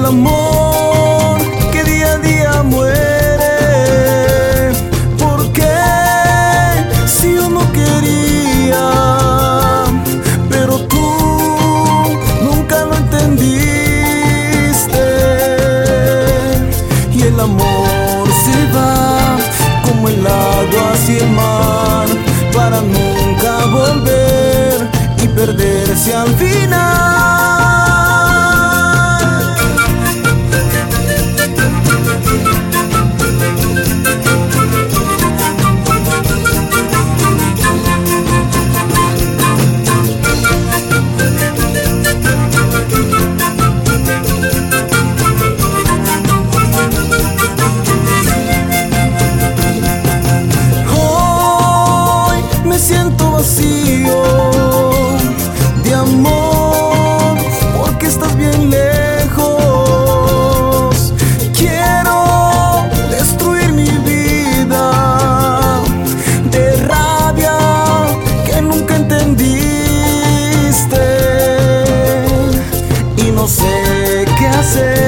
amor que día a día muere. ¿Por qué? Si yo no quería, pero tú nunca lo entendiste. Y el amor se va como el agua hacia el mar, para nunca volver y perderse al final. Siento vacío de amor porque estás bien lejos. Quiero destruir mi vida de rabia que nunca entendiste, y no sé qué hacer.